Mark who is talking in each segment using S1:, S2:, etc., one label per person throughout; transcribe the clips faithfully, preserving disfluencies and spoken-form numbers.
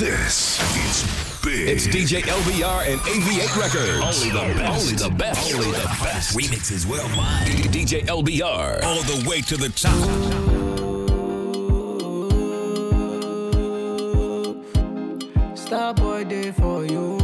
S1: This is big.
S2: It's D J L B R and A V eight Records.
S3: Only the best.
S2: Only the best.
S3: Only the best. Remixes worldwide.
S2: D J L B R.
S3: All the way to the top.
S4: Starboy day for you.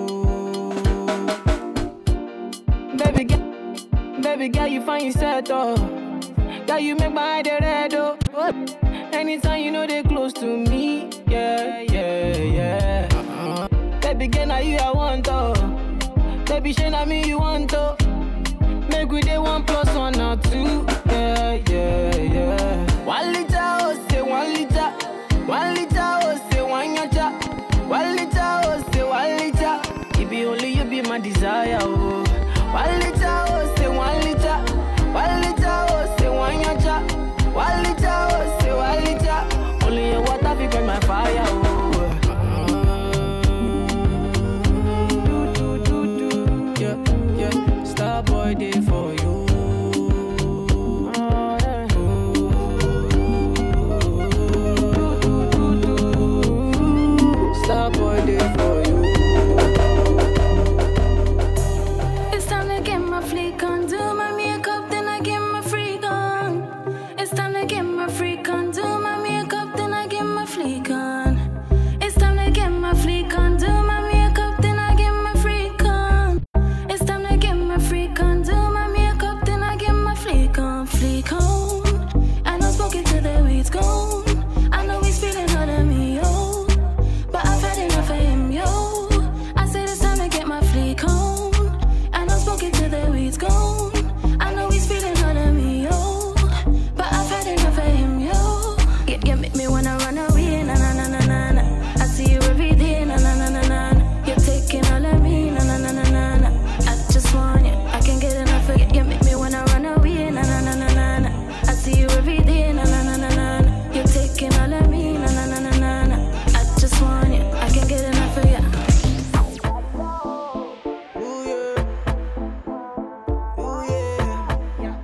S4: Baby girl, baby girl, you find yourself oh. Girl, you make my eye red oh. Anytime you know they close to me, yeah, yeah, yeah. Uh-huh. Baby girl, now you I want oh. Baby, shey na me you want oh. Make we day one plus one or two, yeah, yeah, yeah. One liter oh, say one liter. One liter oh, say one yacha. One liter oh, say one liter. It be only you be my desire oh. One liter oh, say one liter. One liter oh, say one yacha. One liter oh, say one liter. Only your water fi quench my fire oh. Do do do do, yeah yeah. Starboy day for you. Starboy day for you.
S5: It's time to get my fleek on, do my makeup, then I get my freak on. It's time to get my freak on, do my makeup, then I get my fleek on. It's time to get my fleek on, do my makeup, then I get my freak on. It's time to get my freak on, do my makeup, then I get my fleek on, fleek on. I know smoke it till the weed's gone. I know he's feeling hot at me, yo. But I've had enough of him, yo. I said it's time to get my fleek on. I know smoke it till the weed's gone. I know he's feeling hot at me, yo. But I've had enough of him, yo. Yeah, yeah, make me wanna run away, na na na na na na. I see you every day, na na na na na na. You're taking all of me, na na na na na na. I just want you, I can't get enough of you. You make me wanna run away, na na na na na na. I see you every day, na na na na na na. You're taking all of me, na na na na na na. I just want you, I can't get enough of you.
S4: Ooh yeah, ooh yeah.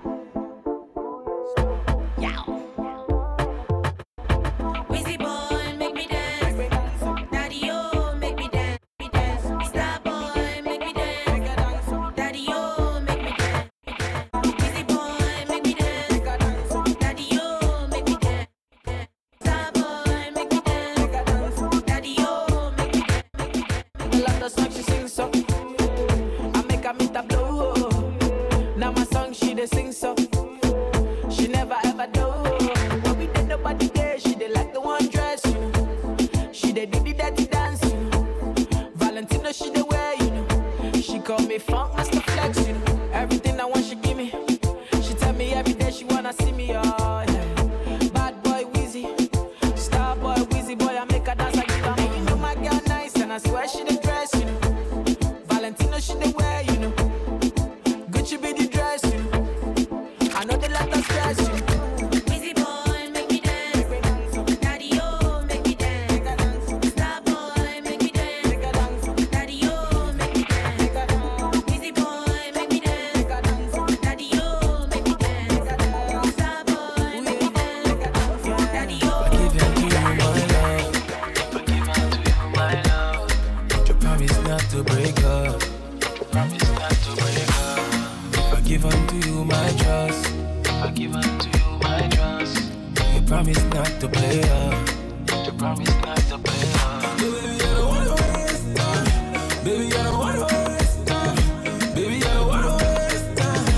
S6: Wizzy boy, make me dance. Daddy, oh, make me dance. Me dance. Star boy, make me dance. Daddy, oh, make me dance. Wizzy boy, make me dance. Daddy, oh, make me dance. Star boy, make me dance. Daddy, oh, make me dance.
S4: I love the song she sings so. I make her meet a blow. Now my song she dey sing so. She never ever do. When we did nobody there, she did like the one dress, you know. She did do the dirty dance, you know. Valentino she dey wear, you know. She call me funk master flex, you know. Everything I want she give me. She tell me every day she wanna see me, oh yeah. Bad boy Wheezy, star boy Wheezy boy, I make her dance, I give her money. You know my girl nice and I swear she the dress, you know. Valentino she the wear, you know. Gucci be the dress, you know. I know they let us stress, you know.
S6: Wizzy boy, make me dance. Daddy, oh, make me dance. Star boy, make me dance. Daddy, oh, make me dance. Wizzy boy, make me dance. Daddy, oh, make me dance. Star boy, make me dance. Daddy, oh,
S4: Give unto you my love.
S7: Forgive unto you my love.
S4: But you promise not to break up.
S7: Promise not to break up.
S4: If I give unto you my trust,
S7: Forgive unto you my trust.
S4: you promise not to play up.
S7: To promise not to play up.
S4: Baby, I don't wanna waste time. Baby, I don't wanna waste time. Baby, I don't wanna waste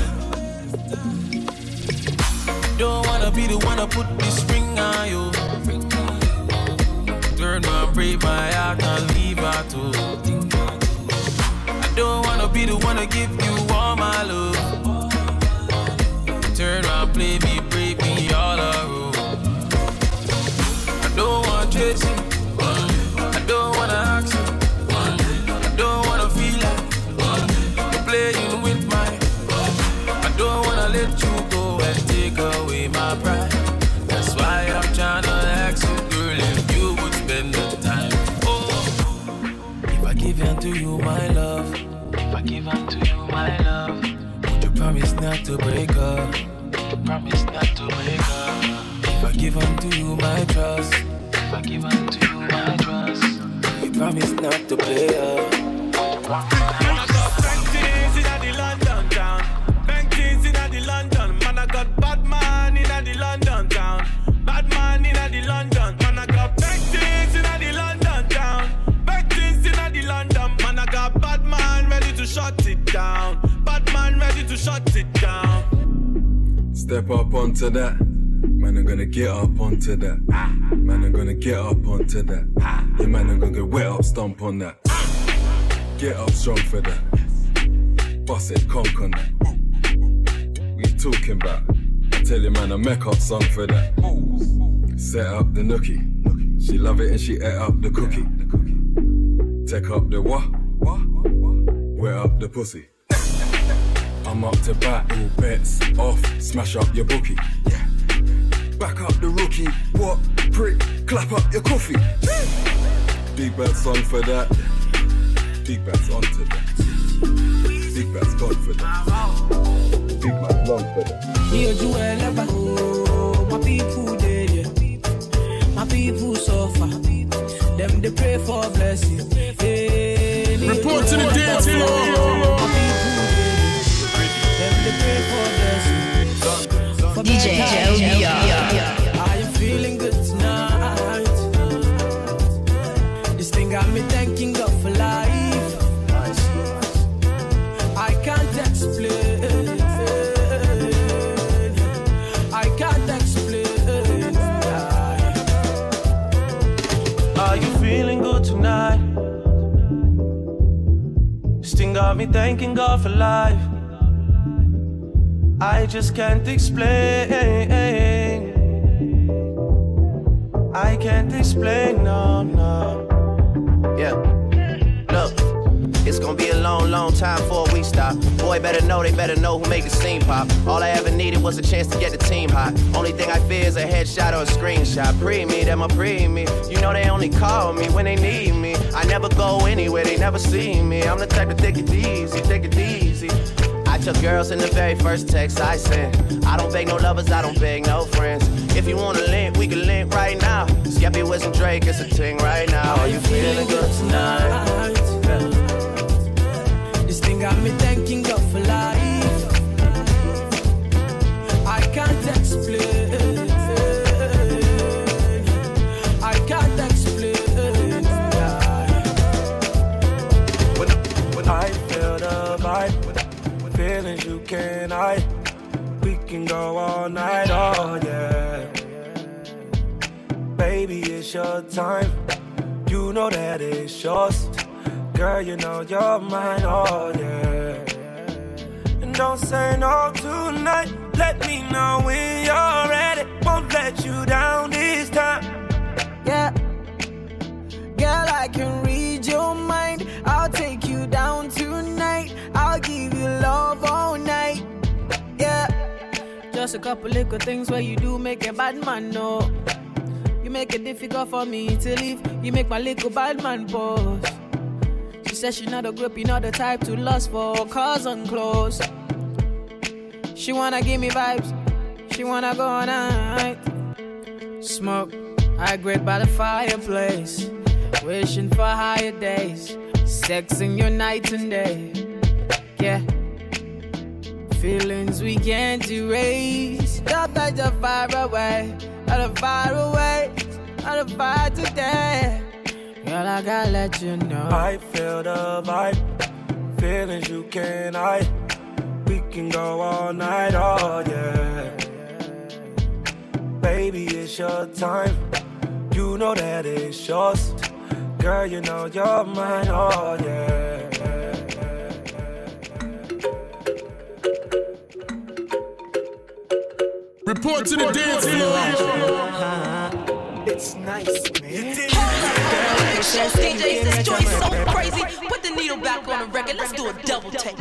S4: time. Don't wanna be the one to put this ring on you. Turn my break my heart and leave her too. I don't wanna be the one to give you all my love. Turn around, play me, break me all around. I don't want chasing. I don't wanna ask you. I don't wanna feel like you're playing with my. I don't wanna let you go and take away my pride. That's why I'm tryna ask you, girl, if you would spend the time. Oh, if I give unto you my love,
S7: If I give unto you my love,
S4: would you promise not to break up?
S7: promise not to break up.
S4: If I give unto you my trust,
S7: If I give unto you my trust,
S8: not to play her.
S9: I got Benjis in the London town. Benjis in the London. Man, I got bad man in the London town. Bad man in the London. Man, I got Benjis in the London town. Benjis in the London. Man, I got bad man ready to shut it down. Bad man ready to shut it down.
S10: Step up onto that. Man, I'm gonna get up onto that. Man, I'm gonna get up onto that. Yeah, man, I'm gonna get wet up, stomp on that. Get up strong for that. Bust it, conk on that. What you talking about? I tell you, man, a make up song for that. Set up the nookie. She love it and she ate up the cookie. Take up the what? Wet up the pussy. I'm up to bat, all bets off. Smash up your bookie. Back up the rookie. What? Prick. Clap up your coffee. Big bad song for that. Big bad's onto that. Big bad's gone for that. Big bad's long for that.
S4: Here you are, oh, my people dead, yeah. My people suffer. Them they pray for blessing. Hey,
S2: report to the dance floor.
S4: My people dead, them they pray for blessing. For
S11: D J L B R.
S4: Are you feeling good tonight? This thing got me thanking God for life. I can't explain. I can't explain.
S9: Are you feeling good tonight? This thing got me thanking God for life. I just can't explain. I can't explain, no, no.
S12: Yeah, look, it's gonna be a long, long time before we stop. Boy, better know, they better know who made the scene pop. All I ever needed was a chance to get the team hot. Only thing I fear is a headshot or a screenshot. Pre-me, them a pre-me. You know they only call me when they need me. I never go anywhere, they never see me. I'm the type to take it easy, take it easy. I took girls in the very first text I sent. I don't beg no lovers, I don't beg no friends. If you wanna link, we can link right now. Skeppy with some Drake, it's a ting right now. Are you feeling good tonight?
S4: This thing got me thanking God for life. I can't explain. I can't explain.
S9: When, when I feel the vibe, feelings you can't hide. We can go all night, oh yeah. Baby, it's your time. You know that it's yours. Girl, you know you're mine, oh yeah. And don't say no tonight. Let me know when you're ready. Won't let you down this time.
S4: Yeah. Girl, I can read your mind. I'll take you down tonight. I'll give you love all night. Yeah. Just a couple little things where you do make a bad man know. You make it difficult for me to leave. You make my little bad man pause. She said she not a grip, you not the type to lust for cars and clothes. She wanna give me vibes. She wanna go all night. Smoke, I grate by the fireplace. Wishing for higher days. Sexing your night and day. Yeah. Feelings we can't erase. Stop that you're far away. Out of far away. Out of far today. Girl, I gotta let you know.
S9: I feel the vibe. Feelings you can't hide. We can go all night, oh yeah. Baby, it's your time. You know that it's yours. Girl, you know you're mine, oh yeah.
S2: Report to the dance
S9: floor.
S13: It's nice, man.
S14: Show D Js, this joint's so crazy. Put the needle back on the record. Let's do a double take.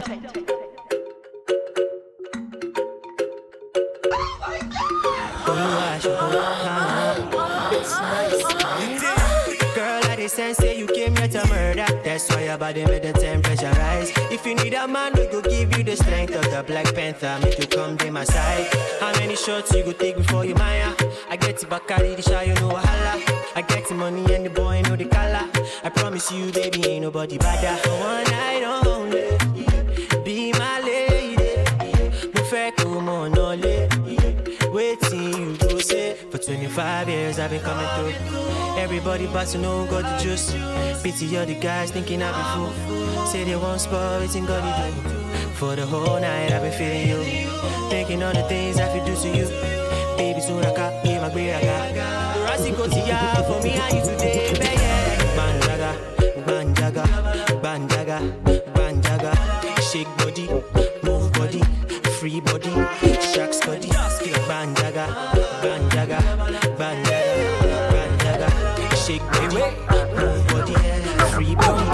S13: It's nice, man. Girl, I sense say you came here to murder. That's why your body made the temperature rise. If you need a man, we go give you the strength of the Black Panther. Make you come to my side. How many shots you go take before you mine? I get the Bacardi, the shy, you know holla. I get the money and the boy know the color. I promise promise you, baby, ain't nobody better. For one night only, be my lady. Me fẹ́ kó mọ̀ náà lé. Waiting you go say. For twenty-five years I've been coming through. Everybody but to know got the juice. Pity all the guys thinking I be fool. Say they won't spoil, waiting God to do. For the whole night I've been feeling you. Thinking all the things I could do to you. Baby soon I got, yeah, my great I got. Rossi go to ya for me and you today, baby. Banjaga, banjaga, banjaga, banjaga. Shake body, move body, free body, shack body. Banjaga, banjaga, banjaga, banjaga. Shake body, move body, free body.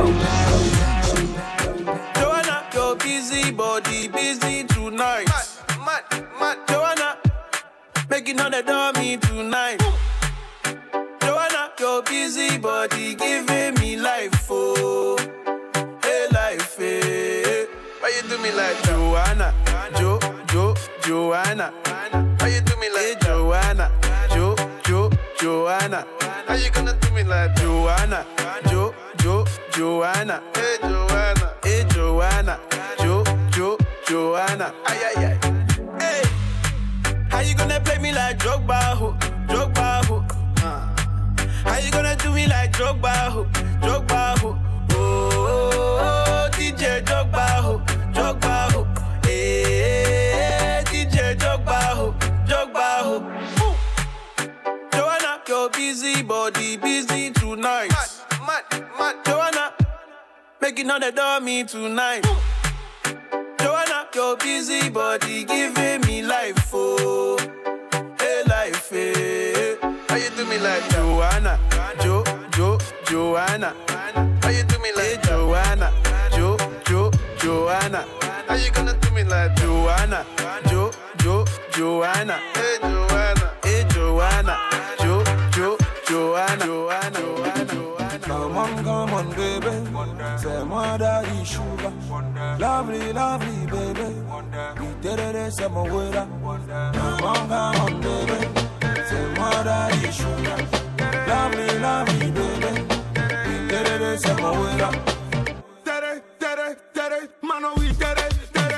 S9: Joanna, your busy body, busy tonight. Mad, mad, mad. Joanna, making all the dummy tonight. Joanna, your busy body giving me life, oh, hey life, hey. Why you do me like Joanna, Jo, Jo, Joanna? Why you do me like Joanna, Jo, Jo, Joanna? How you gonna do me like Joanna, Jo, Jo, Joanna? Hey Joanna, hey Joanna, Jo, Jo, Joanna? Ay ay ay. Hey, how you gonna play me like Drogba, ho, Drogba, ho? Uh. How you gonna do me like Drogba, ho, Drogba, ho? Oh, oh, oh, D J Drogba, ho, Drogba, ho. Hey, D J Drogba, ho, Drogba, ho. Ooh. Joanna, your busy body, busy tonight. Mad, mad, mad. Joanna, making all the dummy tonight. Ooh. Joanna, your busy body giving me life, oh, hey life, hey. How you do me like Joanna, Jo, Jo, Joanna? How you do me like hey, Joanna, Jo, Jo, Joanna? How you gonna do me like Joanna, Jo, Jo, Joanna? Hey Joanna, hey Joanna, Jo, Jo, Joanna, Joanna, Joanna.
S8: Come on, come on, baby. Say moi daddy sugar. Lovely, lovely, baby. We did it, say my way. Come on, come on, baby. Say moi daddy sugar. Lovely, lovely, baby. We did it, say my way. Tere, tere, tere, mano, we did it.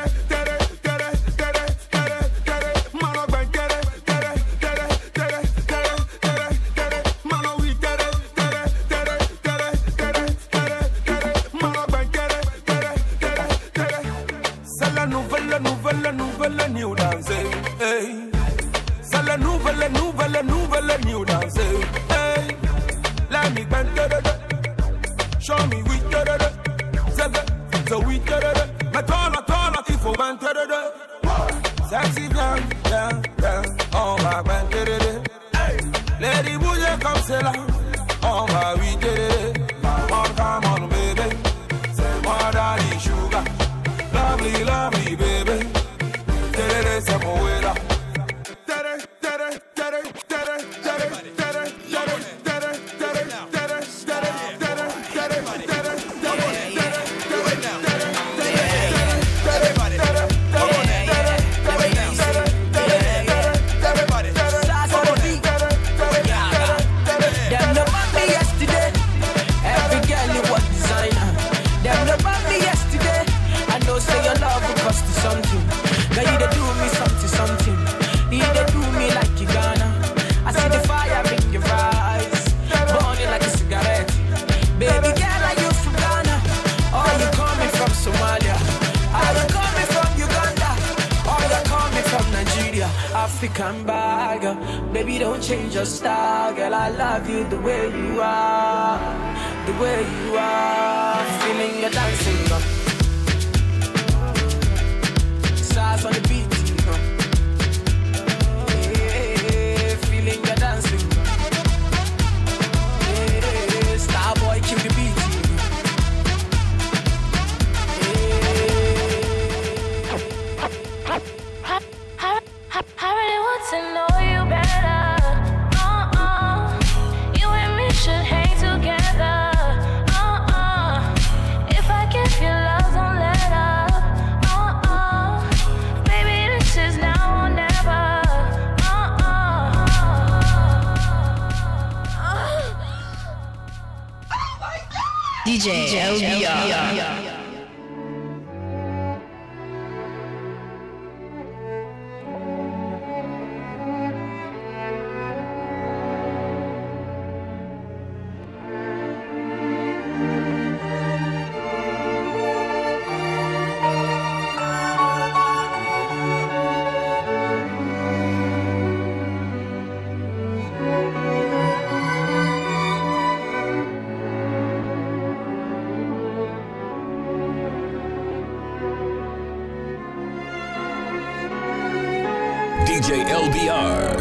S8: Nouvelle, nouvelle, new dance, hey. C'est la nouvelle, nouvelle, nouvelle, new dance, hey. Let me bend, da da da. Show me we da da da. So we da da da. Mais toi là, toi là, il faut bend, da da da. Sexy bien, bien, bien. On va bend, da da da. Hey. Lady bouger comme c'est là. On va oui da da da. Come on, come on, baby. C'est moi daddy sugar. Lovely, lovely, baby. Tere, se muera. Tere, tere, tere, tere, tere, tere, tere, tere, tere, tere, tere, tere, tere,
S4: something. Now you they do me something, something. You they do me like you gonna. I see the fire in your eyes, burning like a cigarette. Baby girl, are you from Ghana? Or you coming from Somalia? Are you coming from Uganda? Or you coming from Nigeria? African bag, baby don't change your style, girl. I love you the way you are, the way you are. Feeling your dancing, girl. On the beat, you know. Yeah, feeling your dancing. Yeah, star boy, kill the beat, you know.
S5: Yeah. I, I, I really want to know you better. Uh-uh. You and me should hang together. Uh-uh. If I give you love
S11: D J L B R.
S3: D J L B R.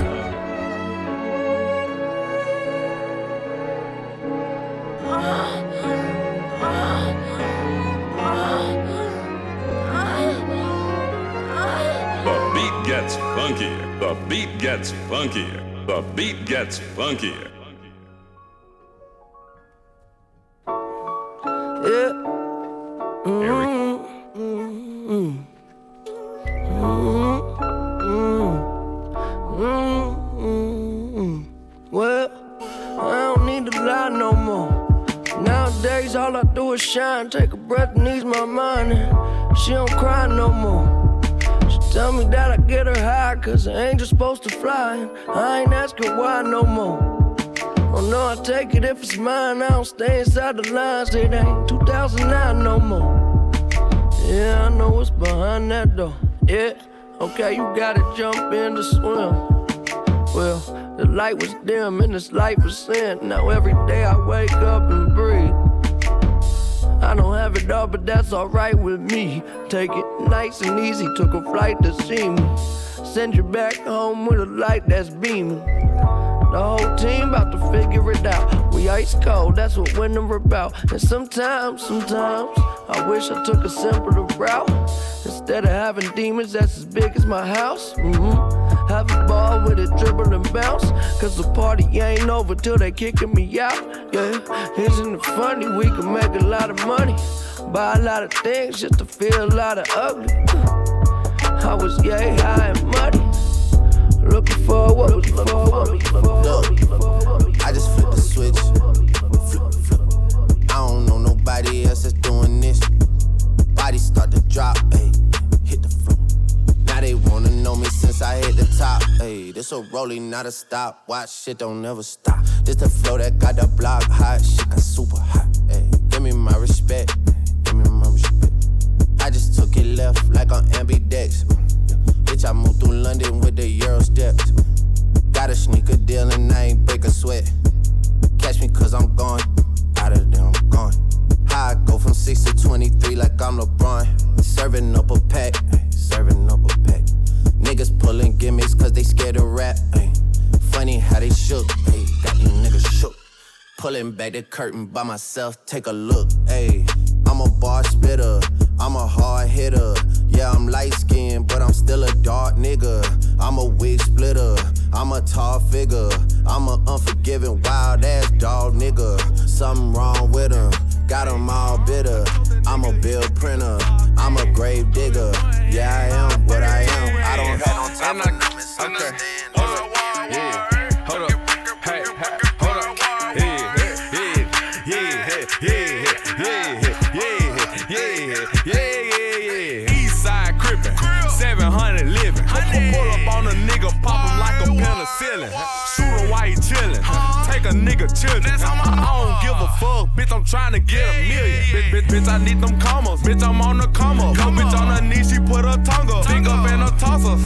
S15: The beat gets funkier. The beat gets funkier. The beat gets funkier.
S16: Yeah. Mm-hmm. Mm-hmm. Mm-hmm. Well, I don't need to lie no more. Nowadays, all I do is shine, take a breath and ease my mind. And she don't cry no more. She tell me that I get her high, cause an angel's supposed to fly. And I ain't asking why no more. Oh no, I take it if it's mine. I don't stay inside the lines. It ain't two thousand nine no more. Yeah, I know what's behind that door. Yeah, okay, you gotta jump in to swim. Well, the light was dim and this light was sin. Now every day I wake up and breathe. I don't have it all, but that's alright with me. Take it nice and easy, took a flight to see me. Send you back home with a light that's beaming. The whole team about to figure it out. We ice cold, that's what winter about. And sometimes, sometimes, I wish I took a simpler route. Instead of having demons that's as big as my house. Mm-hmm. Have a ball with it, dribble and bounce. Cause the party ain't over till they kicking me out. Yeah, isn't it funny? We can make a lot of money. Buy a lot of things just to feel a lot of ugly. I was yay high and muddy. Looking for what was looking for.
S12: Look, I just flipped the switch. Flip, flip. I don't know nobody else that's doing this. Body start to drop, ayy, hit the floor. Now they wanna know me since I hit the top, ayy. This a rolling, not a stop. Watch shit don't never stop. This the flow that got the block hot. Shit got super hot, ayy. Give me my respect, give me my respect. I just took it left like on ambidex. Bitch, I moved through London with the Euro steps. Got a sneaker deal and I ain't break a sweat. Catch me cause I'm gone, out of there I'm gone. How I go from six to twenty-three like I'm LeBron. Serving up a pack, serving up a pack. Niggas pulling gimmicks cause they scared to rap. Ay. Funny how they shook, ay. Got these niggas shook. Pulling back the curtain by myself, take a look. Ay. I'm a bar spitter, I'm a hard hitter. Yeah, I'm light skinned, but I'm still a dark nigga. I'm a wig splitter, I'm a tall figure. I'm a unforgiving, wild ass dog nigga. Something wrong with him, got him all bitter. I'm a bill printer, I'm a grave digger. Yeah, I am what I am. I don't have no time for numbers.
S9: Okay, hold up, yeah, hold up, hey, hey, hold up, yeah, yeah, yeah, yeah, yeah, yeah, yeah, yeah, yeah, yeah. East side crippin', seven hundred living. Pull up on a nigga, pop him like a penicillin. Shoot him while he chillin', take a nigga children. I don't give a fuck, bitch, I'm tryna get a million. Bitch, bitch, bitch, I need them commas, bitch, I'm on the come up. Yo, bitch on her knee, she put her tongue up, big up and her tosser.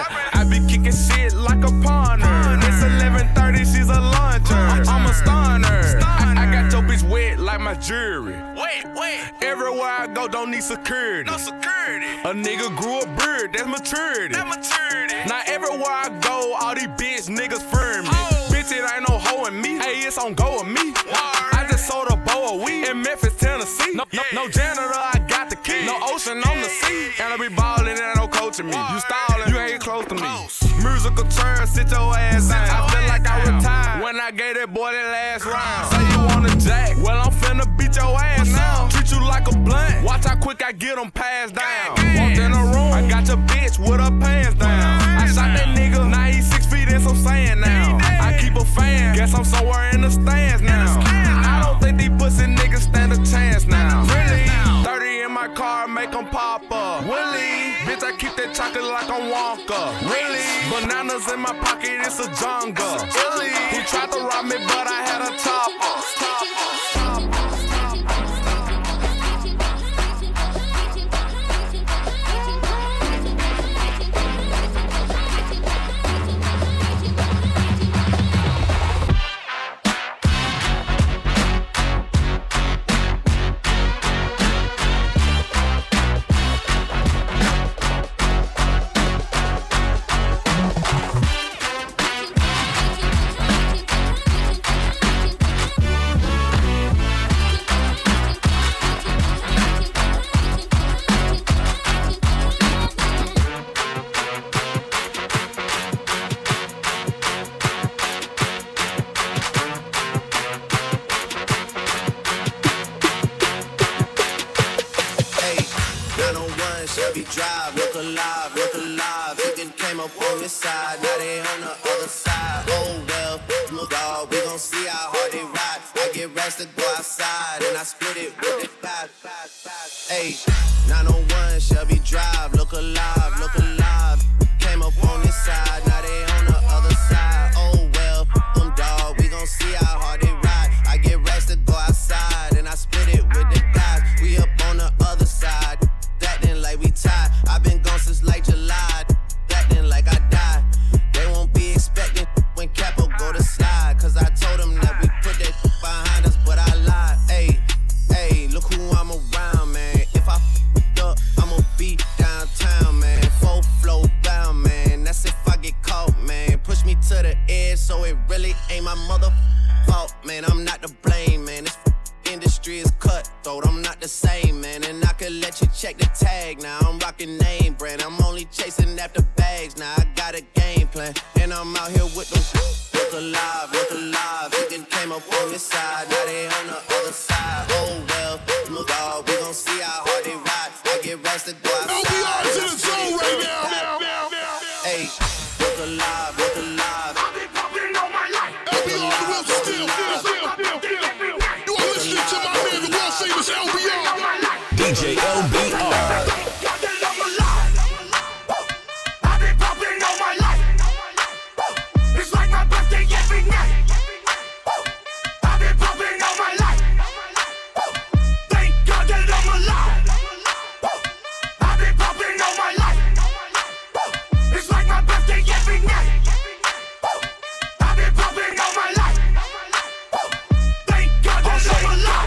S9: I be kicking shit like a punter. It's eleven thirty, she's a luncher. I'm a stunner. I, I got your bitch wet like my jewelry. Wait, wait. Everywhere I go, don't need security. No security. A nigga grew a beard, that's maturity. That maturity. Now everywhere I go, all these bitch niggas firm me. Oh. Bitch, it ain't no hoe in me. Hey, it's on go with me. Word. I just sold a bowl of weed in Memphis, Tennessee. No, yeah. no, no janitor, I got the key. No ocean on the sea. And I be ballin', ain't no coaching me. Word. You stallin', you ain't close to me. Close. Musical turn, sit your ass down. I feel like I retired when I gave that boy that last round. Say you want a jack, well I'm finna beat your ass now. Treat you like a blunt, watch how quick I get them passed down. Walked in the room, I got your bitch with her pants down. I shot that nigga, now he's six feet in some sand now. I keep a fan, guess I'm somewhere in the stands now. I don't think these pussy niggas stand a chance.
S8: that car, make them pop up. Willie, bitch, I keep that chocolate like I'm Wonka. Really? Bananas in my pocket, it's a jungle. Really? He tried to rob me, but I had a top off. Top off. Top off.
S12: Drive, look alive, look alive. Chicken came up on this side, now they on the other side. Oh well, look dog, we gon' see how hard they ride. I get rest to go outside, and I split it with the pad. Hey, nine oh one Shelby Drive, look alive, look alive. Came up on this side, now they on the other side. Oh well, them dog, we gon' see how hard they ride. I get rest to go outside, and I split it with the guys. We up on the other side. Like we tied, I've been gone since like July. Acting like I died. They won't be expecting when Capo go to slide. Cause I told them that we put that behind us, but I lied. Hey, hey, look who I'm around, man. If I f***ed up, I'ma be downtown, man. Full flow bound, man. That's if I get caught, man. Push me to the edge, so it really ain't my mother fault, man. I'm not to blame, man. This industry is cutthroat, I'm not the same, man. And I could let you check the tag now. I'm rocking name brand, I'm only chasing after bags now. I got a game plan, and I'm out here with them. Look alive, look alive. Chicken came up on this side, now they on the other side. Oh well, look dog, we gon' see how hard they ride. I get rest to go outside.
S2: L B R is in the zone right now.
S12: Hey, look alive, look alive.
S2: L B R the wheels are still, still, still, still, still. You are listening to my man, the world famous L B R.
S3: D J L B R.
S17: I've been popping all my life. It's like my birthday every night. I've been popping all my life. Thank God that I'm alive. I've been popping all my life. It's like my birthday every night. I've been popping all my life. Thank God that I'm alive.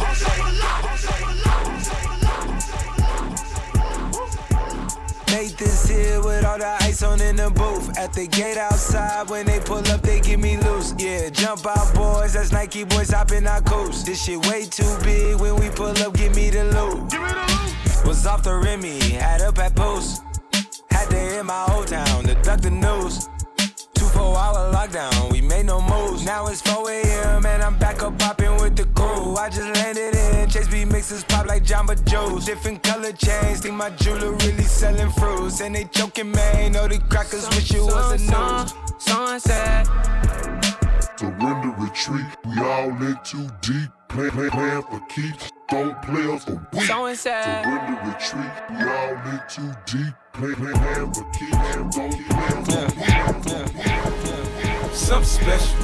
S18: Made this here with all the ice on in the booth. At the gate outside, when they pull up, they get me loose. Yeah, jump out, boys. That's Nike boys hopping our coast. This shit way too big. When we pull up, give me the loot. Give me the loot. Was off the Remy, had up at post. Had to hit my old town to duck the news. Two four hour lockdown, we made no moves. Now it's four a.m. and I'm back up popping with the crew. I just landed in, Chase B mixes pop like Jamba Joe's. Different color chains, think my jeweler really selling fruits. And they joking, man, know the crackers wish it was a news.
S17: Sunset.
S19: Surrender, retreat, we all in too deep. Plan, plan, plan for keeps, don't play us a week. Surrender, retreat, we all in too deep. Plan, plan, plan for keeps, don't play us a week.
S9: Something special,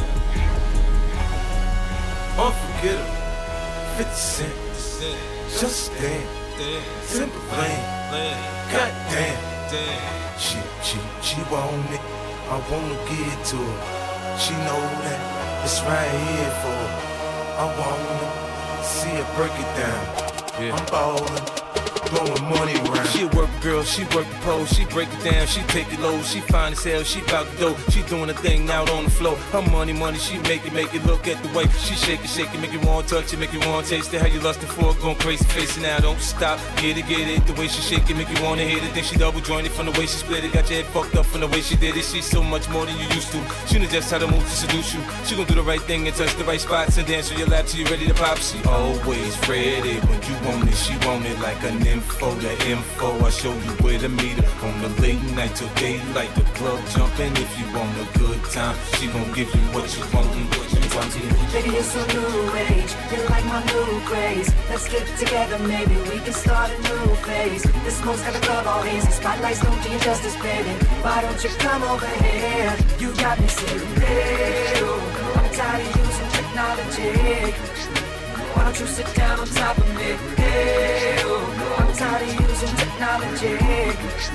S9: unforgettable, fifty cent, just stand, simple lane, goddamn, she, she, she want it, I wanna give it to her, she know that it's right here for her, I wanna see her break it down, yeah. I'm ballin'. Blowing money around. She a work girl, she work the pole, she break it down, she take it low, she fine as hell, she bout the dough, she doing a thing out on the floor. Her money, money, she make it, make it look at the way she shake it, shake it, make you want to touch it, make you want to taste it. How you lustin' for it, going crazy, facing now, don't stop, get it, get it. The way she shake it, make you want to hit it. Then she double jointed from the way she split it, got your head fucked up from the way she did it. She's so much more than you used to. She knows just how to move to seduce you. She gon' do the right thing and touch the right spots and dance on your lap till you ready to pop. She always ready when you want it, she want it like a nymph.
S20: info, the info. I show you where to meet her. On the late night till daylight, the club jumping. If you want a good time, she gon' give you what you want and what you want.
S21: Baby, you're so new age, you like my new craze. Let's get together, maybe we can start a new phase. This smoke's got the club all hazy, spotlights don't do you justice, baby. Why don't you come over here? You got me saying, hey, oh, I'm tired of using technology. Why don't you sit down on top of me? Hey, oh, I'm tired of using technology.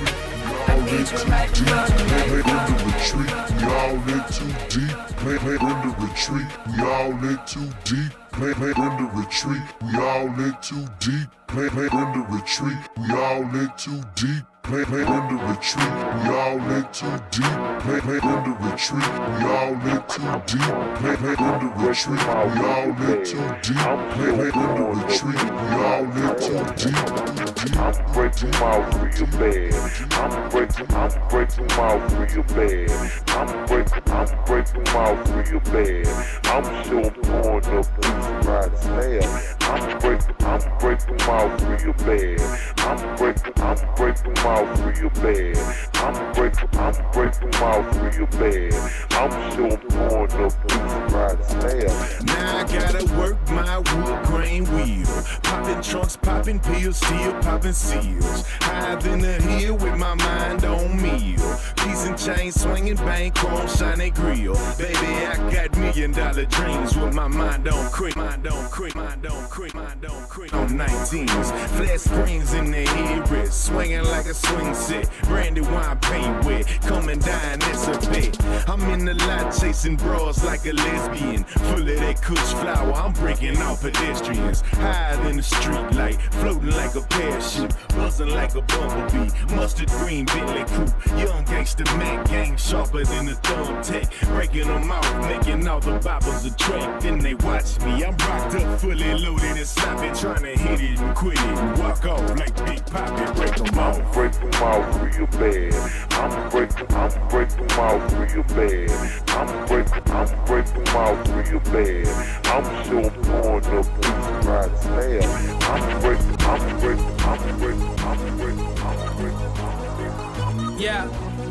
S21: I need you right now.
S19: In the retreat, we all in too deep. Play, play, in the retreat, we all in too deep. Play, play, in the retreat, we all in too deep. Play, play, in the retreat, we all in too deep. Play, play, in the retreat, we all in too deep. Play, play, in the retreat, we all in too deep. Play, play, in the retreat, we all in too deep. Play, play, in the retreat, we all in too deep.
S22: I'm breaking out real bad. I'm breaking, I'm breaking out real bad. I'm breaking, I'm breaking out real bad. I'm so pouring up this right slab. I'm breaking, I'm breaking out real bad. I'm breaking, I'm breaking out real bad. I'm breaking, I'm breaking out real bad. I'm so pouring up this right slab.
S20: Now I gotta work my wood grain wheel. Popping trunks, popping pills, still popping seals. Higher than the hill with my mind on meal. Piece and chain swinging, bank chrome, shiny grill. Baby, I got million dollar dreams with my mind on creep. Mind on creep, mind on creep, mind on creep. On nineteens, flat screens in the headrest. Swinging like a swing set. Brandy wine paint wet. Coming down, it's a bet. I'm in the lot chasing bras like a lesbian. Full of that kush flower, I'm breaking off pedestrians. Higher than the street light, floating like a parachute. Buzzing like a bumblebee. Mustard green Bentley coupe. Young gangster Mac gang, sharper than a thumbtack. Breaking them off, making all the boppers a track. Then they watch me, I'm rocked up, fully loaded and sloppy. Trying to hit it and quit it and walk off like Big Poppy. Break them off.
S22: I'm breaking out real bad. I'm breaking, I'm breaking out real bad. I'm breaking, I'm breaking out real bad. I'm so pouring up this right slab. I'm breaking, I'm breaking, I'm breaking, I'm breaking, I'm breaking.
S16: Yeah.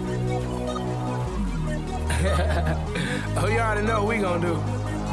S16: Oh, you already know what we gonna do.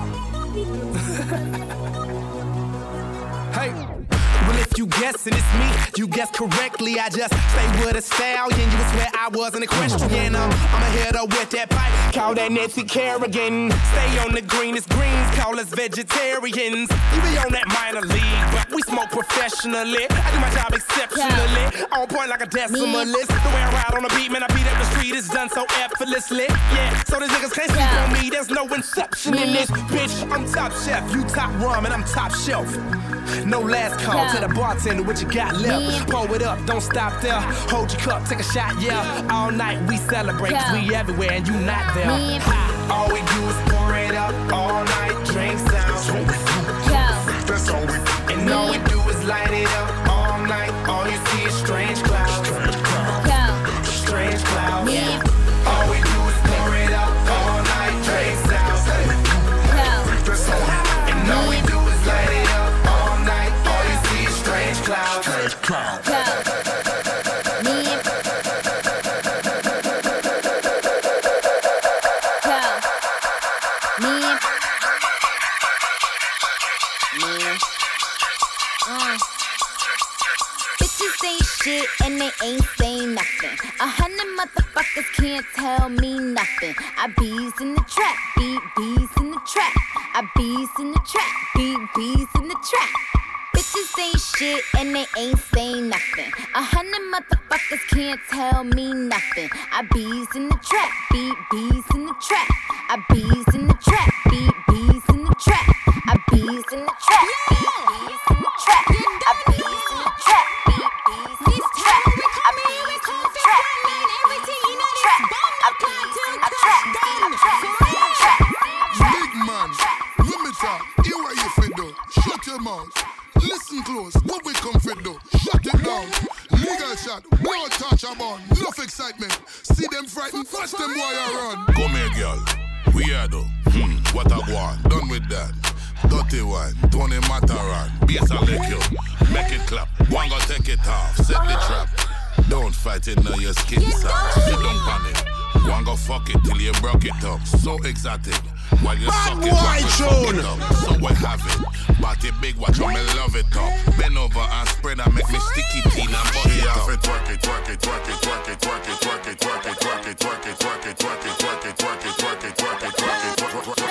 S16: Hey. Well, if you guessing it's me, you guessed correctly. I just stay with a stallion. You would swear I was an equestrian. I'm, I'm a hitter with that pipe. Call that Nancy Kerrigan. Stay on the greenest greens. Call us vegetarians. You be on that minor league, but we smoke professionally. I do my job exceptionally. On point like a decimalist. The way I ride on the beat, man, I beat up the street. It's done so effortlessly. Yeah, so these niggas can't sleep on me. There's no inception in this bitch. I'm top chef, you top rum, and I'm top shelf. No last call to the bartender, what you got left? Pour it up, don't stop there. Hold your cup, take a shot, yeah. All night we celebrate, cause we everywhere and you not there. All we do is pour it up, all night, drinks down. That's all we do. And all we do is light it up, all night. All you see is strange clouds. Strange clouds. All we do is pour it up, all night, drinks down. That's all we do. And all we do is light it up. Cloud. Strange cloud. Me. Me. Me. Uh. Bitches ain't shit and they ain't saying nothing. A hundred motherfuckers can't tell me nothing. I bees in the trap, beat bees in the trap. I bees in the trap, beat bees in the trap. Bitches ain't shit and they ain't saying nothing. A hundred motherfuckers can't tell me nothing. I bees in the trap, beat bees in the trap. I bees in the trap, beat bees in the trap. I bees in the trap, beat bees in the trap. I bees in the trap, beat bees in the trap. I bees in the trap, beat bees in the trap. I bees in the trap, beat bees in the trap.
S2: Big man, limiter, hear what you fit do. Shut your mouth. Listen close, what we come fit do? Shut it down. Legal shot, blow touch about. Enough excitement. See them frightened, watch them while you run.
S23: Come here, girl. We are though. Hmm, what a one. Done with that. Dirty one. Tony Mataran. Bass a lick you. Make it clap. One go take it it off, set the trap. Don't fight it, now your skin soft. Sit down on it. Go and go fuck it till you broke it up. So exotic. While you suck it, while you fuck it up. So we have it. Body big, watch how me love it up. Bend over and spread and make me sticky teen and bust it up. Twerk it, twerk it, twerk it, twerk it, twerk it, twerk it, twerk it, twerk it, twerk it, twerk it, twerk it, twerk it, twerk it, twerk it, twerk it, twerk it, twerk it,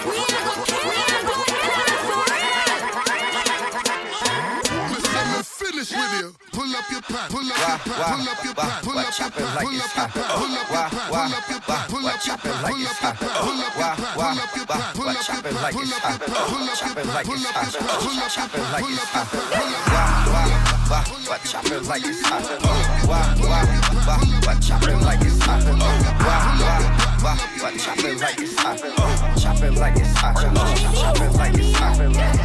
S2: finish with you. Pull up your pants, pull up your pants, pull up your pants, pull up your pants, pull up your pants, pull up your pants, pull up your pants, pull up your pants, pull up your pants, pull up your pants, pull up your pants, pull up your pants, pull up your pants, pull up your pants, pull up your pants, pull up your pants, pull up your pants, pull up
S1: What chop it like it's hot? Wah wah wah. What chop it like it's hot? Wah wah wah. What chop it like it's hot? Chop it like it's hot. Chop it like it's hot.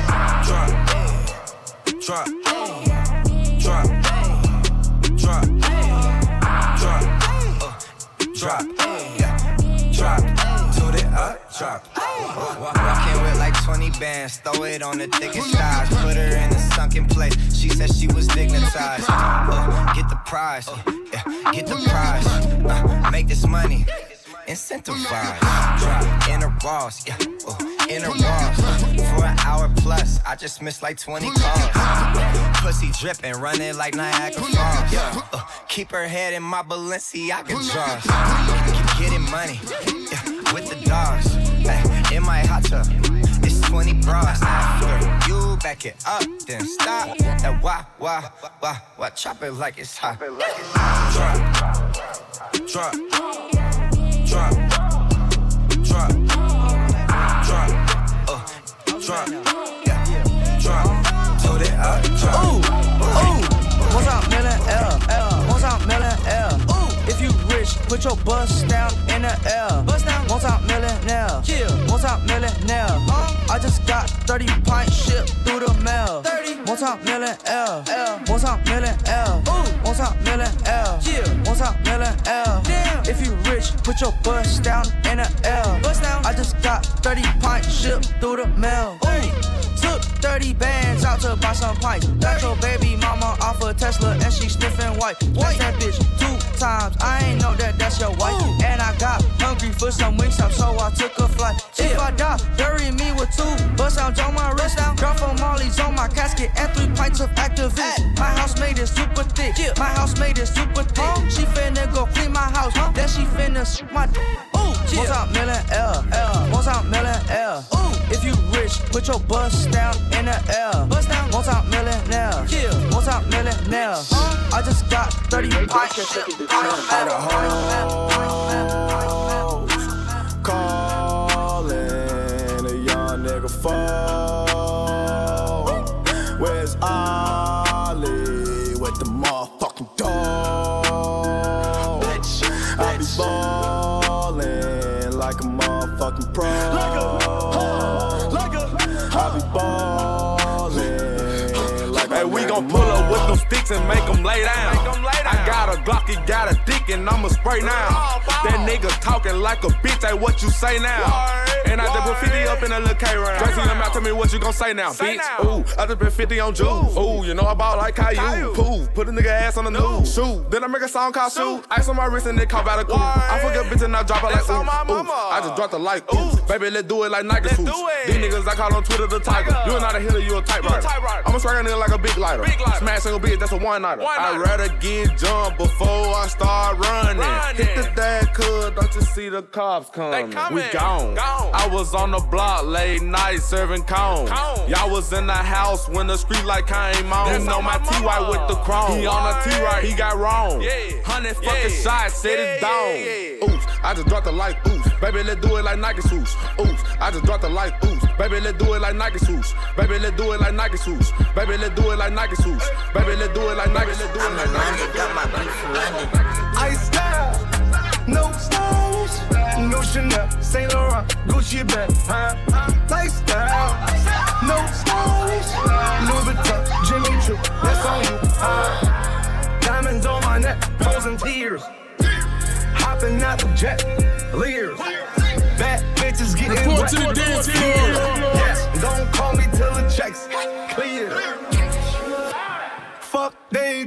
S1: Drop, drop. Drop, drop, drop, uh, drop, yeah, drop, toot it up, drop. Walking with like twenty bands, throw it on the thickest thighs, put her in a sunken place. She said she was dignitized. Uh, get the prize, uh, yeah, get the prize. Uh, make this money, incentivize. Drop in a Ross, yeah, uh, in a Ross. For an hour plus, I just missed like twenty calls. Pussy dripping, running like Niagara Falls. Uh, keep her head in my Balenciaga drawers. Keep getting money, yeah, with the dogs. Ay, in my hot tub, it's twenty bras. After you back it up, then stop. That wah, wah, wah, wah, chop it like it's hot. Drop, drop, drop, drop, drop, uh, drop, yeah, drop. Toot it up, drop.
S16: Ooh, ooh, what's up, million L, L, what's up, million L. Ooh, if you rich, put your bust down in the L. Bust down, what's up, millionaire? Yeah, what's up, millionaire? Huh? I just got thirty pints shipped through the mail. thirty, what's up, million L, L, what's up, million L. Ooh, what's up, million L? Yeah, what's up, million L? Damn, if you rich, put your bust down in the L. Bust down, I just got thirty pints shipped through the mail. Ooh. Took thirty bands out to buy some pints. Got your baby mama off a Tesla and she sniffing white. That's that bitch two times. I ain't know that that's your wife. Ooh. And I got hungry for some wings up, so I took a flight. Yeah. If I die, bury me with two bust out on my wrist down. Drop for Molly's on my casket and three pints of Activist. My house made it super thick. Yeah. My house made it super thick. Huh? She finna go clean my house. Huh? Then she finna sh- my. Ooh, yeah. What's up, million L? L. What's up, million L? Ooh, if you rich, put your bust down in the L. Bust down. What's up, millionaire? Yeah. What's up, millionaire? Huh? I just got thirty pints.
S6: Had a hoes calling a young nigga phone. Where's Ollie with the motherfucking dog? I be ballin' like a motherfucking pro. Like a, like a, I be ballin' like
S8: hey, we gon' pull up with them sticks and make them lay down. I got a Glock, he got a dick, and I'ma spray now. That nigga talking like a bitch, hey, what you say now? And I just put fifty up in a little K round. Dressing him out, tell me what you gon' say now, bitch. Ooh, I just put fifty on Juice. Ooh, you know I ball like Caillou. Pooh, put a nigga ass on the news. Shoot, then I make a song called Shoot. Ice on my wrist and it caught by the cool. I forget bitch and I drop it like ooh, ooh. I just dropped the like ooh. Baby, let's do it like Nike swoosh. These niggas I call on Twitter the Tiger. You are not a hitter, you a typewriter. I'ma strike a nigga like a big lighter. Smash single bitch, that's a one-nighter. I'd rather get jumped before I start running. Hit the dad, cuz don't you see the cops coming? We gone. I was on the block late night serving cones. Y'all was in the house when the street light came on. You know my T-White with the chrome. He on the T-Right, he got wrong. Hundred fucking shots, set it down. Oops, I just dropped the light, oops. Baby, let's do it like Nike swoosh. Oops, I just dropped the light, oops. Baby, let's do it like Nike swoosh. Baby, let's do it like Nike swoosh. Baby, let's do it like Nike swoosh. Baby, let's do it like Nike. Let's do it like Nike.
S6: Ice style, no stylish, no Chanel, Saint Laurent, Gucci bag, huh? Lifestyle, no stylish, Louis Vuitton, Jimmy Choo, that's on you, huh? Diamonds on my neck, frozen tears, hopping out the jet, leers. Bad bitches getting
S2: report
S6: wet.
S2: To the dance floor.
S6: Yes, don't call me till the checks clear. Fuck they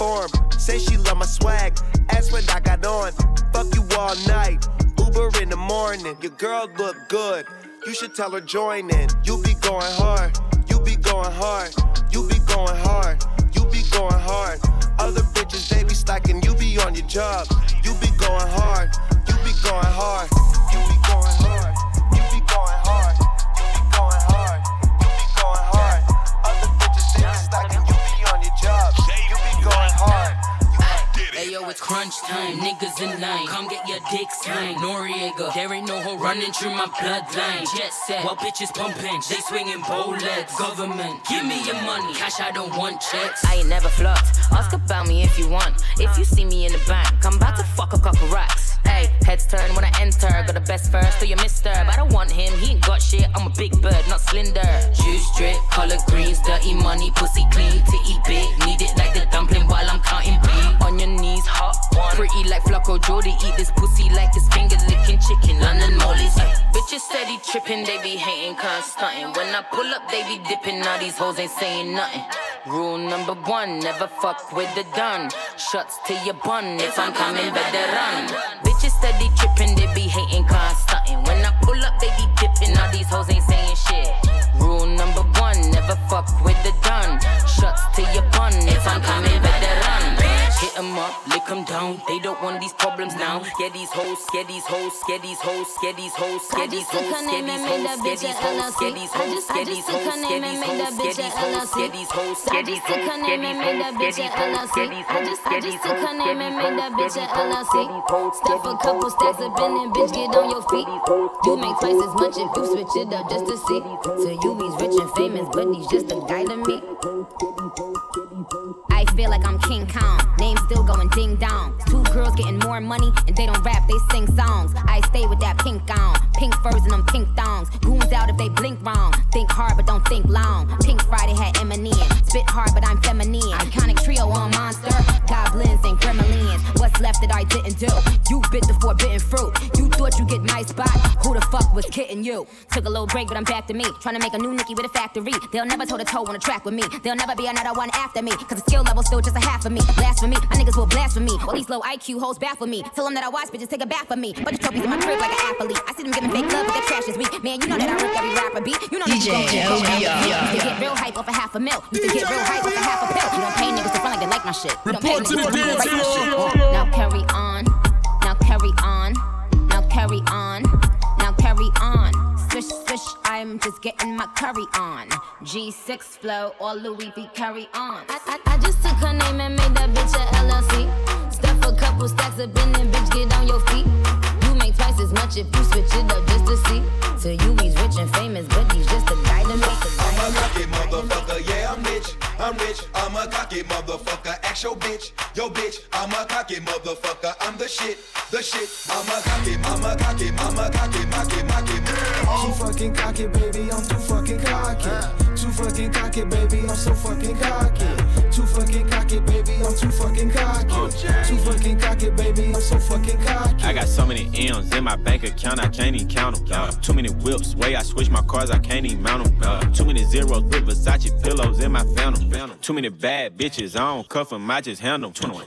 S24: form. Say she love my swag, ask what I got on. Fuck you all night, Uber in the morning. Your girl look good, you should tell her join in. You be going hard, you be going hard, you be going hard, you be going hard. Other bitches, they be slacking, you be on your job. You be going hard, you be going hard, you be going hard, you be going hard, you be going hard, you be going hard. Other bitches, they be slacking, you be on your job. You be going hard.
S4: Hey yo, it's crunch time, niggas in line. Come get your dick signed. Noriega, there ain't no hoe running through my bloodline. Jet set, while bitches pumping, they swinging bow legs. Government, give me your money, cash I don't want checks.
S12: I ain't never flopped, ask about me if you want. If you see me in the back, I'm about to fuck a couple racks. Hey, heads turn when I enter, got the best first, so you mister. But I don't want him, he ain't got shit, I'm a big bird, not slender. Juice drip, collard greens, dirty money, pussy clean, titty big. Need it like the dumpling while I'm counting beat. On your knees, hot one. Pretty like Flocko Jody, eat this pussy like it's finger licking chicken. London mollies, ay. Bitches steady tripping, they be hating, cause stunting. When I pull up, they be dipping, now these hoes ain't saying nothing. Rule number one, never fuck with the done. Shots to your bun, if I'm coming, better run. Bitches steady tripping, they be hating, cause stunting. When I pull up, they be dipping, now these hoes ain't saying shit. Rule number one, never fuck with the done. Shots to your bun, if I'm coming, better run. Hit 'em up, lick 'em down, they don't want these problems now. Get these hoes, get these hoes, get these hoes, get these hoes, get these hoes, get these hoes, get these hoes, get these hoes, get these hoes, get these hoes, get these hoes, get these hoes, get these hoes, get these hoes, get these hoes, get these hoes, get these hoes, get these hoes,
S7: Stuff a couple stacks up in and bitch, get on your feet. You make twice as much if you switch it up just to see. So you be rich and famous, but he's just a guy to me. I feel like I'm King Kong, name still going ding dong. Two girls getting more money and they don't rap, they sing songs. I stay with that pink on, pink furs and them pink thongs. Goons out if they blink wrong, think hard but don't think long. Pink Friday had Eminem, spit hard but I'm feminine. Iconic trio on Monster, goblins and gremlins. What's left that I didn't do? You bit the forbidden fruit. You thought you get my spot, who the fuck was kidding you? Took a little break but I'm back to me, trying to make a new Nicki with a factory. They'll never toe to toe on a track with me, there'll never be another one after me. Cause the skill level's still just a half of me. Blasphemy, my niggas will blaspheme. All these low I Q hoes baffle me. Tell them that I watch bitches take a bath for me. Bunch of trophies in my crib like an athlete. I see them giving fake love but their trash is weak. Man, you know that I rip every rapper beat. You know that you gon' go down. Used to get real hype off a half a mil. Used to get real hype off a half a pill. You don't pay niggas to front like they like my shit. You don't pay niggas to write my shit. Now carry on, now carry on, now carry on, now carry on. Swish, swish, I'm just getting my curry on. G six flow, or Louis V carry on. I, I, I just took her name and made that bitch a L L C. Stuff a couple stacks up in and bitch, get on your feet. You make twice as much if you switch it up just to see. So you he's rich and famous, but he's just a guy to me.
S13: I'm a cocky motherfucker, yeah, I'm rich, I'm rich. I'm a cocky motherfucker, ask your bitch, yo bitch. I'm a cocky motherfucker, I'm the shit, the shit. I'm a cocky, I'm a cocky, I'm a cocky, cocky, cocky.
S15: Too fucking cocky, baby, I'm too fucking cocky. Too fucking cocky, baby, I'm so fucking cocky. Too fucking cocky, baby, I'm too fucking cocky. Too fucking cocky, baby, I'm so fucking cocky.
S25: I got so many M's in my bank account, I can't even count them. Uh, too many whips, way I switch my cars, I can't even mount them. Uh, too many zeros with Versace pillows in my phantom. Too many bad bitches, I don't cuff them, I just handle them.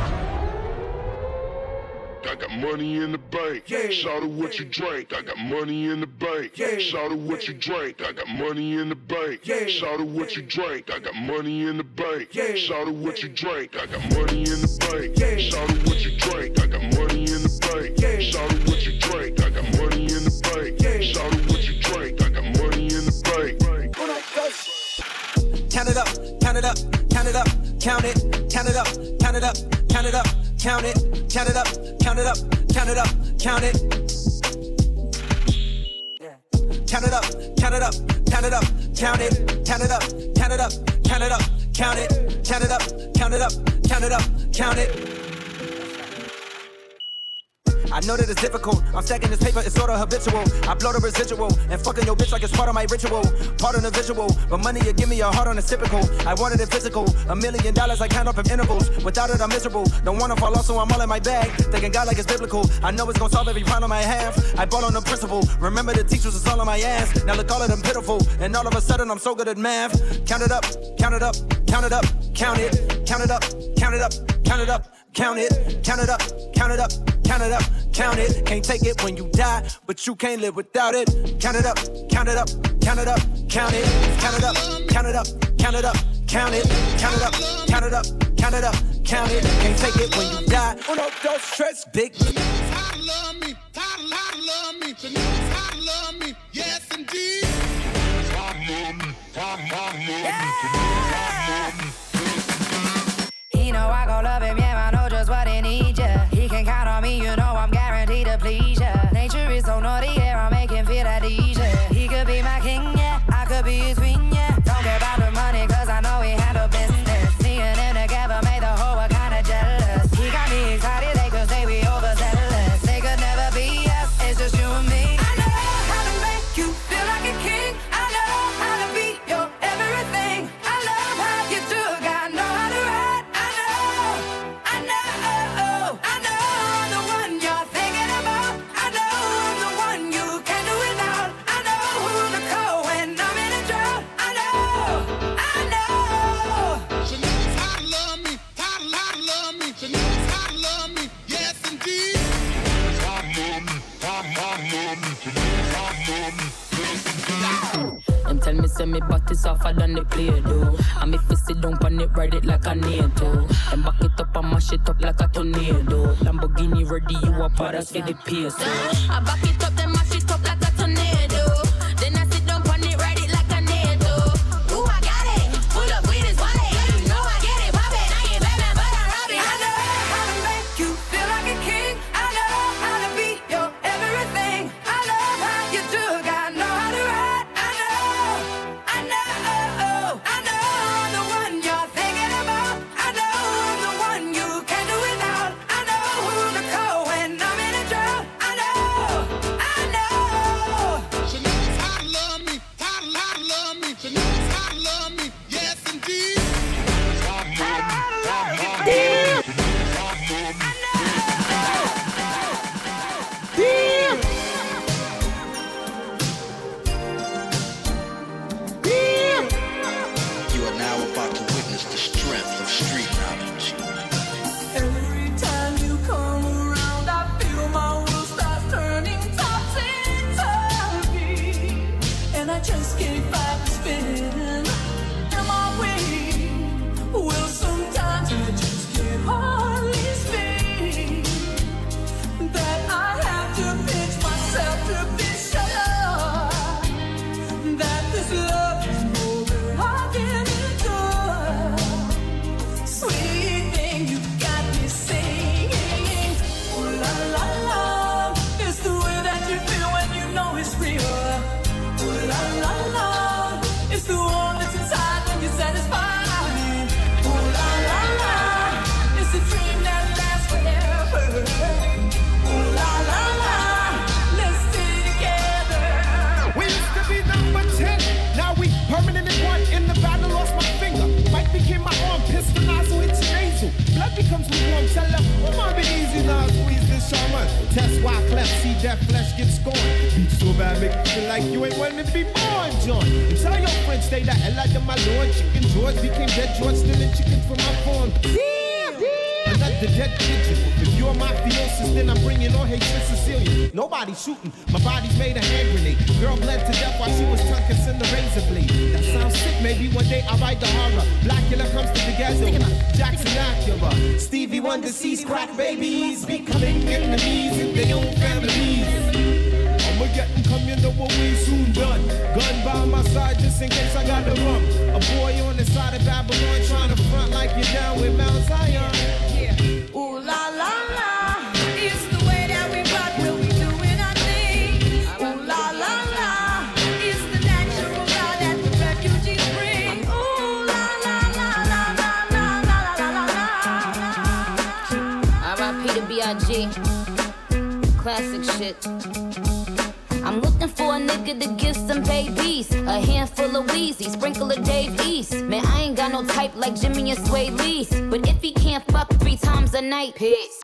S19: I got money in the bank. Yeah. Shout out what you drank. I got money in the bank. Yeah. Shout out what you drank. I got money in the bank. Yeah. Shout out what you drank. I got money in the bank. Yeah. Shout out what you drank. I got money in the bank. Yeah. Shout out what you drank. I got money in the bank. Yeah. Shout out what you drank. I got money in the bank. Yeah. Shout out what you drank. I got money in the bank.
S18: Count it up, count it up, count it up, count it, count it up, count it up, count it up, count it, count it up, count it up, count it up, count it. Count it up, count it up, count it up, count it, count it up, count it up, count it up, count it, count it up, count it up, count it up, count it. I know that it's difficult, I'm stacking this paper, it's sorta habitual. I blow the residual, and fucking your bitch like it's part of my ritual. Part of the visual, but money you give me a heart on a typical. I wanted it physical, a million dollars I count up in intervals. Without it I'm miserable, don't wanna fall off so I'm all in my bag. Thinking God like it's biblical, I know it's gonna solve every problem I have. I bought on the principle, remember the teachers was all on my ass. Now look all of them pitiful, and all of a sudden I'm so good at math. Count it up, count it up, count it up, count it, count it up, count it up, count it up, count it, count it up, count it up, count it up, count it. Can't take it when you die, but you can't live without it. Count it up, count it up, count it up, count it, count it up, count it up, count it up, count it, count it up, count it up, count it up, count it. Can't take it when you die. Uno, dos, tres, big.
S2: How to love me, how to, how to love me, to know how to love me, yes indeed. How to love me, how to, how to love me, to know how to love me.
S3: He know I gon' love him, yeah, I know just what he needs, yeah. He can count on me, you know I'm guaranteed to please, yeah. Nature is so naughty, yeah, I make him feel at ease, yeah. He could be my king, yeah, I could be his queen, yeah. Don't care about the money, cause I know he handle business. Me and him together made the whole world kinda jealous. He got me excited, they could say we overzealous. They could never be us, it's just you and me. I know how to make you feel like a king. I know how to be your everything. I love how you do, I know how to ride. I know, I know, I know I'm the one you're thinking about. I know I'm the one you can't do without. I know who to call when I'm in a drought. I know, I know.
S2: She knows how to love me, how to, how to love me, she knows how to love me, yes indeed. How to love me, how to, how to love me, she knows how to love me, yes indeed.
S4: Them tell me say me body softer than the play do. And if you sit down on it, ride it like a NATO. Then back it up and mash it up like a tornado. Lamborghini ready, you a part of the peso. I back it up, then mash it up like a tornado. Then I sit down on it, ride it like a NATO. Ooh, I got it, pull up with his wallet. You know I get it, pop it. I ain't Batman, but I'm Robin.
S3: I know how to make you feel like a king. I know how to be your everything. I love how you do, I know how to ride. I know, I know, I know I'm the one you're thinking about. I know I'm the one you can't do without. I know who to call when I'm in a drought. I know, I know.
S2: She knows how to love me, how to, how to love me, she knows how to love me, yes indeed. How to love me, how to, how to love me, she knows how to love me.
S17: You are now about to witness the strength of street knowledge.
S20: Every time you come around, I feel my world starts turning topsy-turvy, and I just can't fight the spin. Am I weak? Well, sometimes I just can't hardly speak. That I have to pinch myself to be sure that this love is more than I can endure. Sweet thing, you got me singing. Ooh la la la, it's the way that you feel when you know it's real. Ooh la la la, it's the one that's inside when you're satisfied. Ooh la la la, it's a dream that lasts forever. Ooh la la la, let's stay together.
S21: We used to be number ten, now we permanent in one. In the battle, lost my finger. Fight became my arm, pistol nozzle, it's your nasal. Blood becomes lukewarm, tell them, oh my, be easy now, squeeze this shaman. Test why cleft, see that flesh get scorned. Beat so bad, make you feel like you ain't wanting to be born, John. And tell your friends, stay the hell out of my lord. Chicken George became dead George, stealing chicken from my farm. Damn, damn. Another dead pigeon. If you're mafiosis, then I'm bringing all hate to Sicilian. Nobody shooting, my body's made a hand grenade. Girl bled to death while she was tongue kissing the razor blade. That sounds sick, maybe one day I'll write the horror. Blackula comes to the ghetto, Jackson Acura. Stevie Wonder sees crack babies becoming enemies in their own families. I'ma get them come, you know what we soon done. Gun by my side just in case I got the rum. A boy on the side of Babylon trying to front like you're down with Mount Zion.
S20: Ooh la la la, it's the way that we rock when we doing our thing. Ooh la la la, it's the natural law that the refugees bring. Ooh la la la la la la la la la la.
S12: R I P to B I G. Classic shit. I'm looking for a nigga to give some babies. A handful of Wheezy, sprinkle of Dave East. Man, I ain't got no type like Jimmy and Sway Lee. But if he can't fuck three times a night, peace.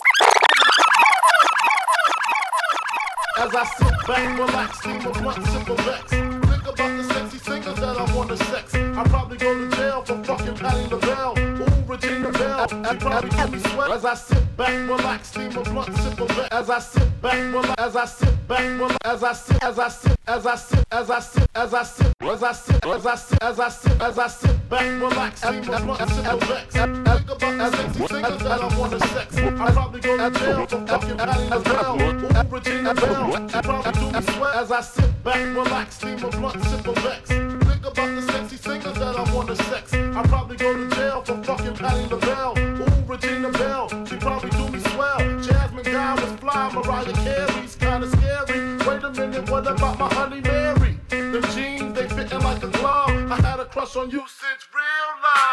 S22: As I sit back, relax, think of one simple vex. Think about the sexy singers that I wanna sex. I probably go to jail for fucking patting the bell. Ooh, Regina Bell. bell. She probably do me sweat as I sit back, relax, steam a blunt, sip a vet. As I sit back, relax, as I sit back, relax, as I sit, as I sit, as I sit, as I sit, as I sit, as I sit, as I sit, as I sit, as I sit back, relax, steam a blunt, sip a vet. Think about as sexy singers that I wanna sex. I probably go to jail for fucking Patty as well. Ooh, Regina Bell. I probably do me sweat as I sit back, relax, steam a blunt, sip a vex. Think about the sexy singers that I wanna sex. I probably go to jail for fucking Patty LaBelle. Ooh, Regina Bell. She probably do me swell. Jasmine Guy was fly. Mariah Carey's kinda scary. Wait a minute, what about my honey Mary? Them jeans, they fitting like a glove. I had a crush on you since real love.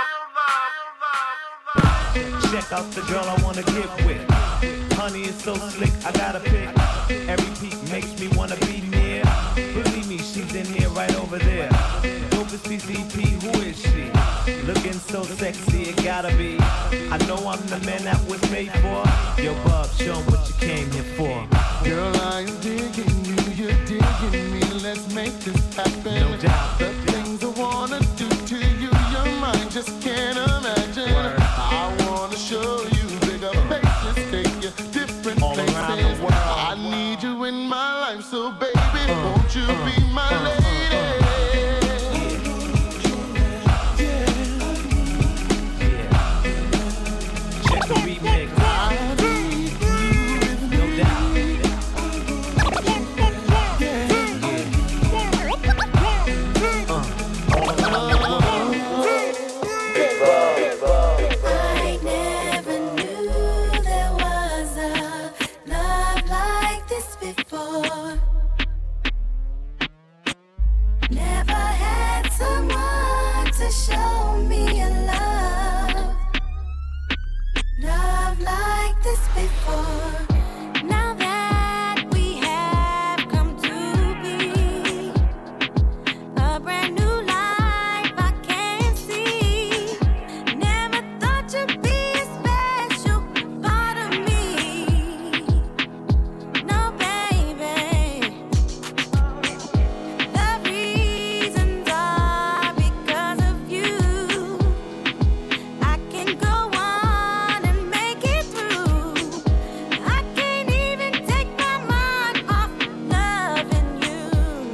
S1: Check out the girl I wanna get with. Honey is so slick, I gotta pick. Every peak makes me wanna be near. Believe me, she's in here right over there. Dope C C P, who is she? Looking so sexy, it gotta be. I know I'm the man that was made for. Yo, Bub, show 'em what you came here for.
S6: Girl, I'm digging you, you're digging me. Let's make this happen.
S1: No doubt.
S6: The things I wanna do to you, your mind just can't imagine. Word. I wanna show you bigger places, take you different all places. Around the world. I need you in my life, so baby, uh, won't you uh, be my uh, lady? Uh,
S1: the remix. I need you with me. No doubt. Yeah. Yeah. Uh. All around the world. Big Bob, Big Bob, Big Bob.
S5: I never knew there was a love like this before. Never had someone to show me a love. Love like this before. Now that we have come to be a brand new life I can see. Never thought you'd be a special part of me. No, baby. The reasons are because of you. I can go on and make it through. I can't even take my mind off loving you.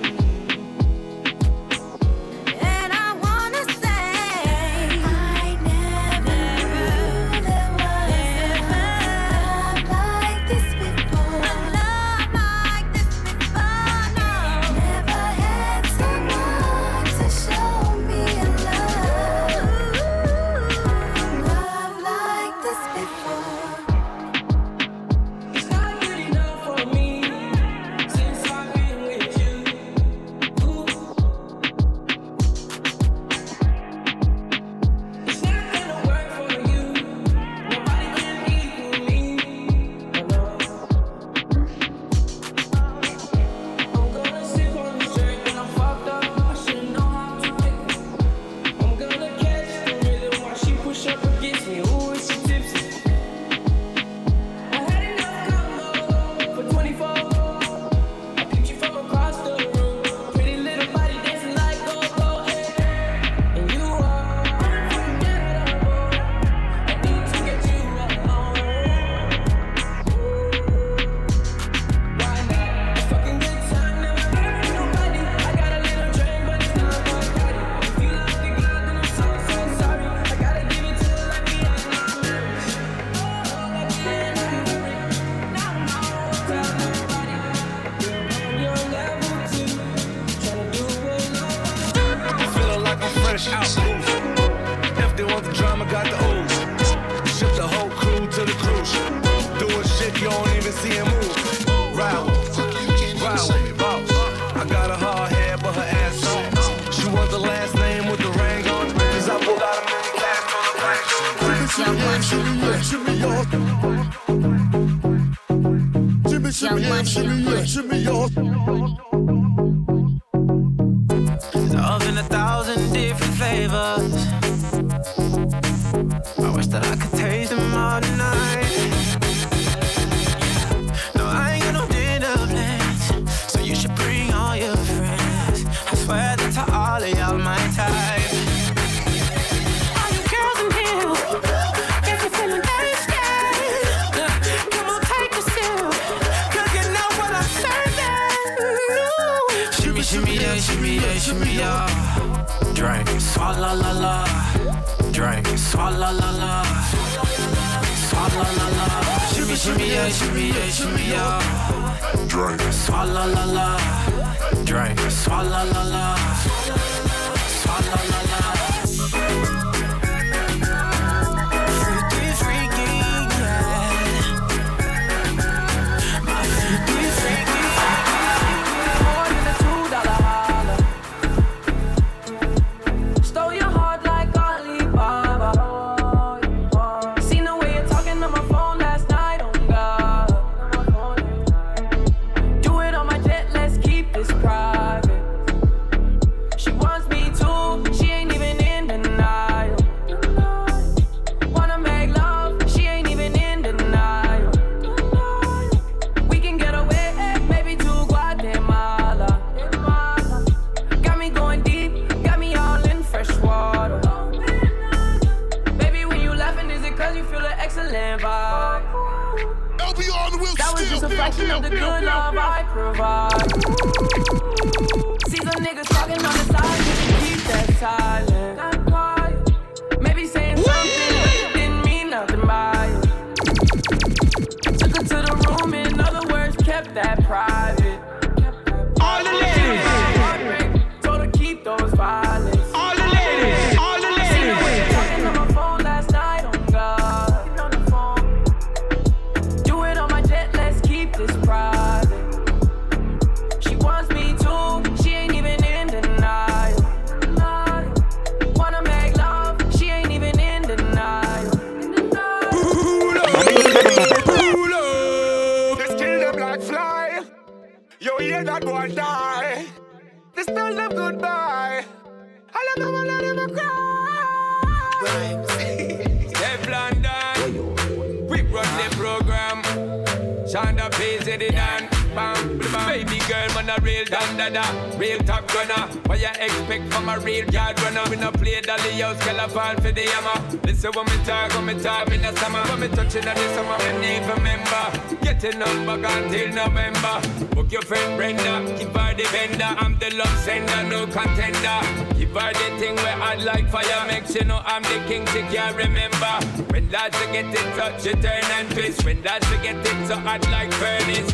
S5: And I wanna say I never knew there was a love like this before. A love like this before, no. Never had someone to show me a love. Love like this before.
S20: It's not good enough for me since I've been with you. Ooh. It's not gonna work for you. Nobody can equal me. Oh, no. I'm gonna sip on this drink when I'm fucked up. I should know how to pick it. I'm gonna catch the rhythm while she push up against me. Ooh, is she tipsy? I had enough combo for twenty-four. I picked you from across the room. Pretty little body dancing like go-go, eh. And you are unforgettable. I need to get you alone. Why not? It's fucking good time, never hurt nobody. I got a little drink, but it's not my body. If you love the girl, then I'm so, so sorry. I gotta give it to you like the end of the memories. Oh, like the end of the memories. Now I'm all tell nobody. You're level two, tryna do what love.
S18: Feeling like I'm fresh out booth. If they want the drama, got the ooze. Ship the whole crew to the cruise. Doing shit you don't even see him move. Ride with me, ride with me, boss. I got a hard head, but her ass on. She want the last name with the ring on. Cause I pulled out a mini class on the plane.
S2: Shimmy, y'all. Shimmy, shimmy, yeah, shimmy, yeah, shimmy, y'all.
S1: Love in a thousand different flavors. I wish that I could taste them all night. No, I ain't got no dinner plans, so you should bring all your friends. I swear that to all of y'all my type. All you girls in here, if you
S8: shimmy yeah, shimmy yeah, shimmy yeah. Drink, swalla la la. Drink, swalla la la. Swalla la la. Shimmy, shimmy yeah, shimmy yeah, shimmy yeah. Drink, swalla la la. Drink, swalla la la. Swalla la la. Freaky, freaky, yeah. My freaky, freaky, freaky. More than a two dollar holler. Stole your heart like Alibaba. Seen the way you're talking on my phone last night, oh God. Do it on my jet, let's keep this private. She wants me too, she ain't even in denial. Wanna make love, she ain't even in denial. We can get away, maybe to Guatemala. Got me going deep, got me all in fresh water. Baby, when you laughing, is it cause you feel an excellent vibe? That was just a fraction of the good love I provide. See some niggas talking on the side, you can keep that silent. Not quiet. Maybe saying something, but it didn't mean nothing by it. Took her to the room, in other words, kept that private. All the ladies. Told her keep those violets. All the ladies. All the ladies. See the way you're talking on my phone last night, oh God. Do it on my jet, let's keep this private. She wants me too, she ain't even in denial. Wanna make love, she ain't even in denial.
S9: Pull up, they kill them like fly. You hear that boy die. They tell them goodbye. I love them, I let them cry. Teflon Dan, we run the program. Shonda P Z Dan, bam, bam. Baby girl, man a real dan dada, real top gunner. What you expect from a real yard runner? We no play dolly house, girl a fall for the hammer. Listen when me talk, when me talk in the summer, when me touching on the summer, me need remember. Get a number until November. Book your friend Brenda, give her the vendor. I'm the love sender, no contender. Give her the thing where I like fire, makes you know I'm the king. She can't remember. When lads to get it touch, you turn and twist. When lads to get it so hot like furnace.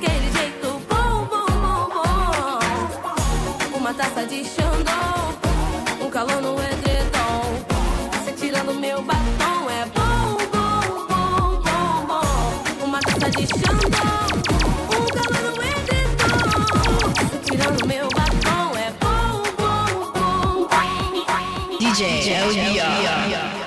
S5: Uma taça de Xandão, gosta de Xandão. O cavalo é dedão. Tirando meu batom é bom, bom, bom.
S10: D J L B R.